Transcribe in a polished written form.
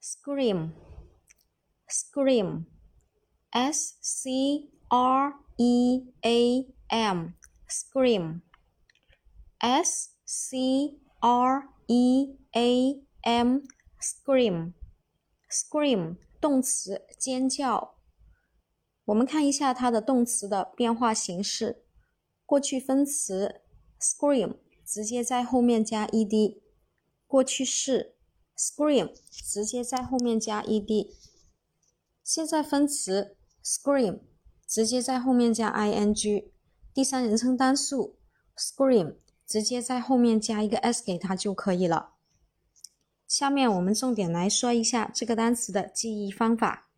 scream scream S-C-R-E-A-M scream S-C-R-E-A-M scream scream 动词尖叫。我们看一下它的动词的变化形式。过去分词 scream 直接在后面加 ed， 过去式 scream 直接在后面加 ed， 现在分词 scream 直接在后面加 ing， 第三人称单数 scream 直接在后面加一个 s 给它就可以了。下面我们重点来说一下这个单词的记忆方法。